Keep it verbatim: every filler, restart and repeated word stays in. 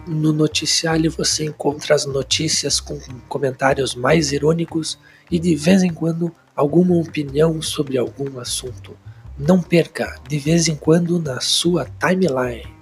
No noticiário você encontra as notícias com comentários mais irônicos e de vez em quando alguma opinião sobre algum assunto. Não perca, de vez em quando, na sua timeline.